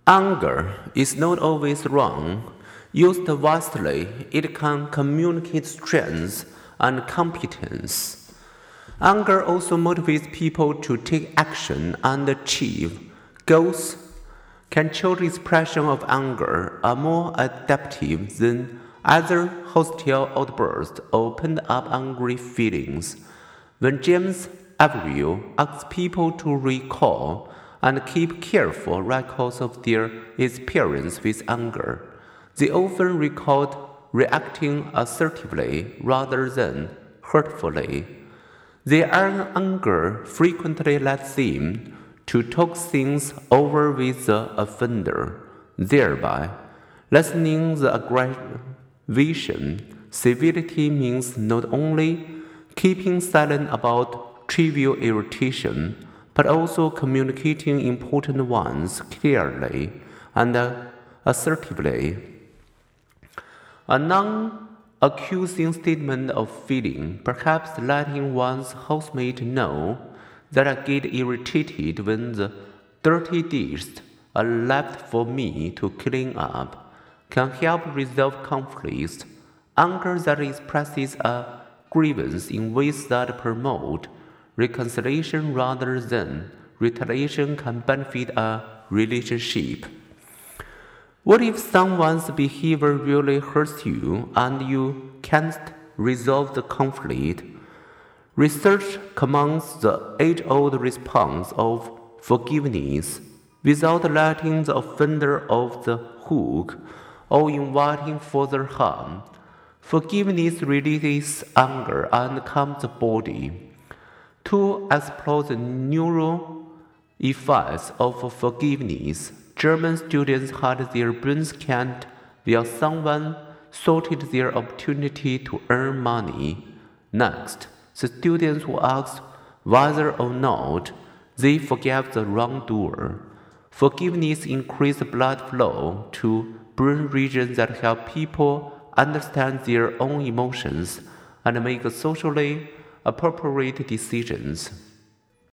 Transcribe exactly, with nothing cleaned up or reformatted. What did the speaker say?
Anger is not always wrong. Used wisely, it can communicate strength and competence. Anger also motivates people to take action and achieve goals. Controlled expression of anger are more adaptive than other hostile outbursts or pent-up angry feelings. When James Averill asks people to recall and keep careful records of their experience with anger, they often record reacting assertively rather than hurtfully. Their anger frequently lets them to talk things over with the offender, thereby lessening the aggravation. Civility means not only keeping silent about trivial irritation, but also communicating important ones clearly and assertively. A non-accusing statement of feeling, perhaps letting one's housemate know that I get irritated when the dirty dishes are left for me to clean up, can help resolve conflicts. Anger that expresses a grievance in ways that promote reconciliation rather than retaliation can benefit a relationship. What if someone's behavior really hurts you and you can't resolve the conflict? Research commands the age-old response of forgiveness without letting the offender off the hook or inviting further harm. Forgiveness releases anger and calms the body. To explore the neural effects of forgiveness, German students had their brains scanned while someone sorted their opportunity to earn money. Next, the students were asked whether or not they forgave the wrongdoer. Forgiveness increased blood flow to brain regions that help people understand their own emotions and make socially appropriate decisions.